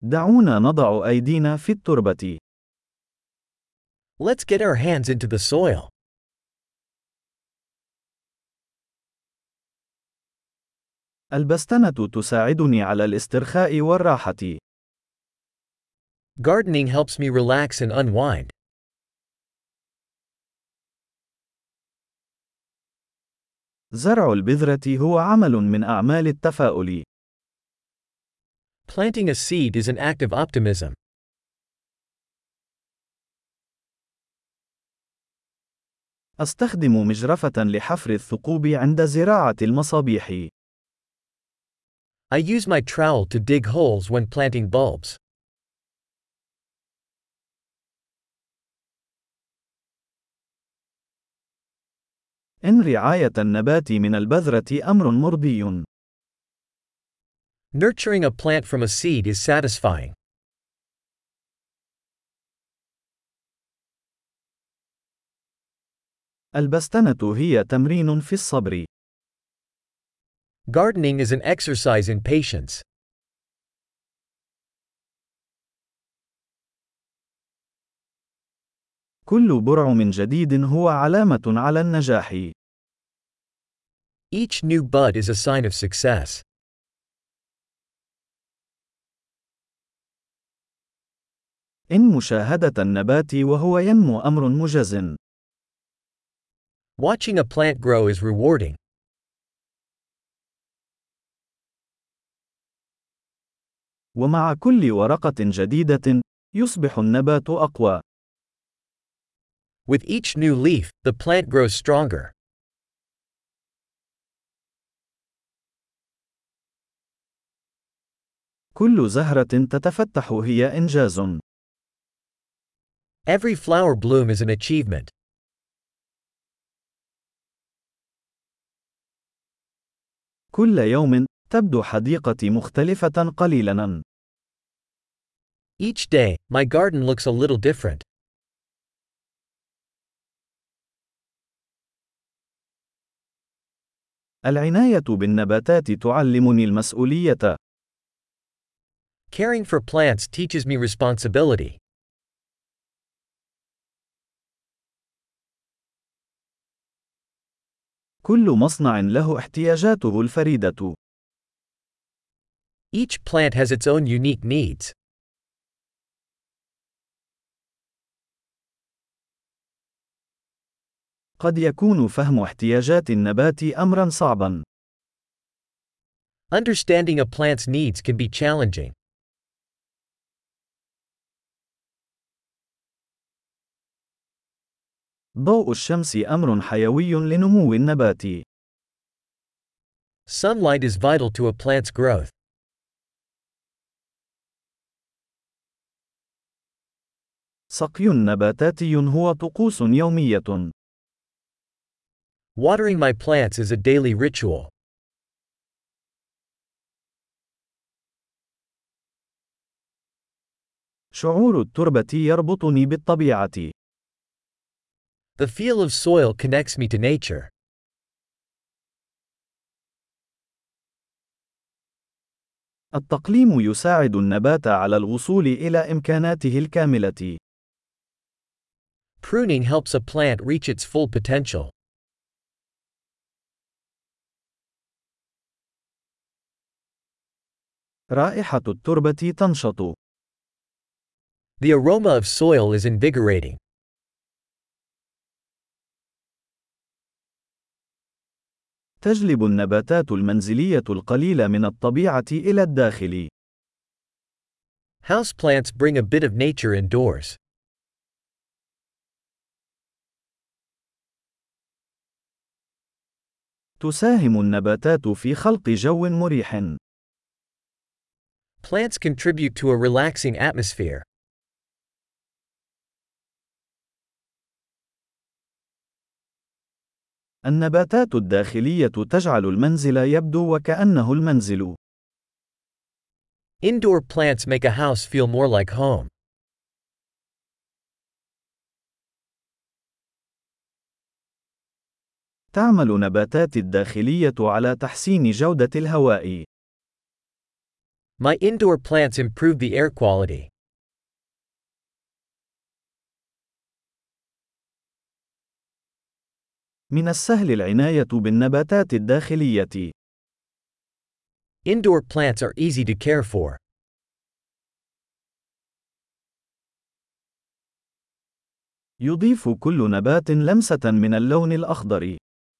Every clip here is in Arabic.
دعونا نضع أيدينا في التربة. Let's get our hands into the soil. البستنة تساعدني على الاسترخاء والراحة. Gardening helps me relax and unwind. زرع البذرة هو عمل من أعمال التفاؤل. Planting a seed is an act of optimism. أستخدم مجرفة لحفر الثقوب عند زراعة المصابيح. I use my trowel to dig holes when planting bulbs. إن رعاية النبات من البذرة أمر مرضي. Nurturing a plant from a seed is satisfying. البستنة هي تمرين في الصبر. Gardening is an exercise in patience. كل برعم جديد هو علامة على النجاح. Each new bud is a sign of success. إن مشاهدة النبات وهو ينمو أمر مجز. Watching a plant grow is rewarding. ومع كل ورقة جديدة، يصبح النبات أقوى. With each new leaf, the plant grows stronger. كل زهرة تتفتح هي إنجاز. Every flower bloom is an achievement. كل يوم تبدو حديقتي مختلفة قليلاً. Each day, my garden looks a little different. العناية بالنباتات تعلمني المسؤولية. Caring for plants teaches me responsibility. كل مصنع له احتياجاته الفريدة. Each plant has its own unique needs. قد يكون فهم احتياجات النبات أمرا صعبا. Understanding a plant's needs can be challenging. ضوء الشمس أمر حيوي لنمو النبات. Sunlight is vital to a plant's growth. سقي نباتاتي هو طقوس يومية. Watering my plants is a daily ritual. شعور التربة يربطني بالطبيعة. The feel of soil connects me to nature. التقليم يساعد النبات على الوصول إلى إمكاناته الكاملة. Pruning helps a plant reach its full potential. رائحة التربة تنشط. The aroma of soil is invigorating. تجلب النباتات المنزلية القليل من الطبيعة إلى الداخل. Houseplants bring a bit of nature indoors. تساهم النباتات في خلق جو مريح. Plants contribute to a relaxing atmosphere. النباتات الداخلية تجعل المنزل يبدو وكأنه المنزل. Indoor plants make a house feel more like home. تعمل نباتات الداخلية على تحسين جودة الهواء. My indoor plants improve the air quality. من السهل العناية بالنباتات الداخلية. Indoor plants are easy to care for. يضيف كل نبات لمسة من اللون الأخضر.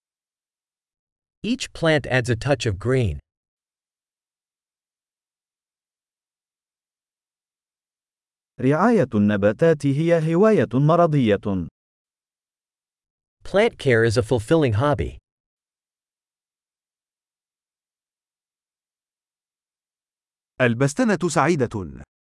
Each plant adds a touch of green. رعاية النباتات هي هواية مرضية. Plant care is a fulfilling hobby. البستنة سعيدة.